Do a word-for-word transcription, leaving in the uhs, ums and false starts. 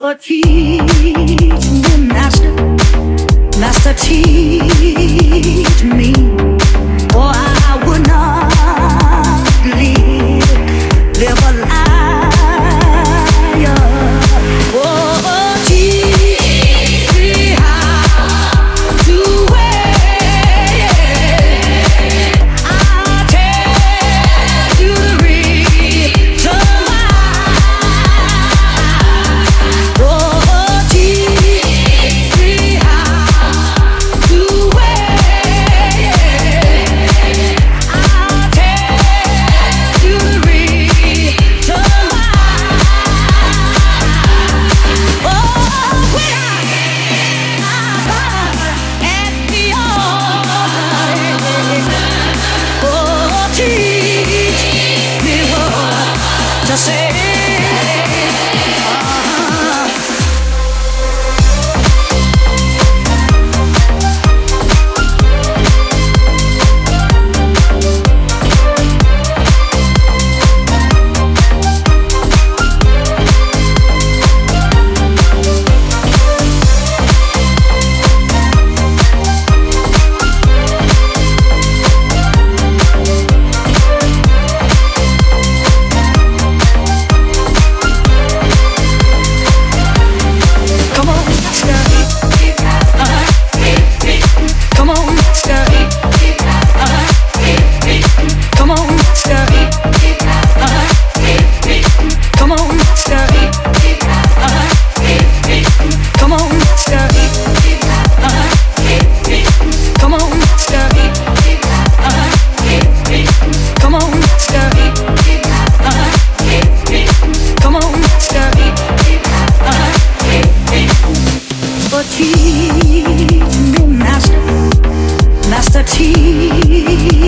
Oh, teach me, Master, Master, teach me, or I would not live, live a liar. Oh, teach me how to wait. I'll tell you the reason why. Oh, teach me how to wait. I'll tell you the reason why. Oh, when I at the altar, oh, teach me what to say. Teach me, Master, Master, teach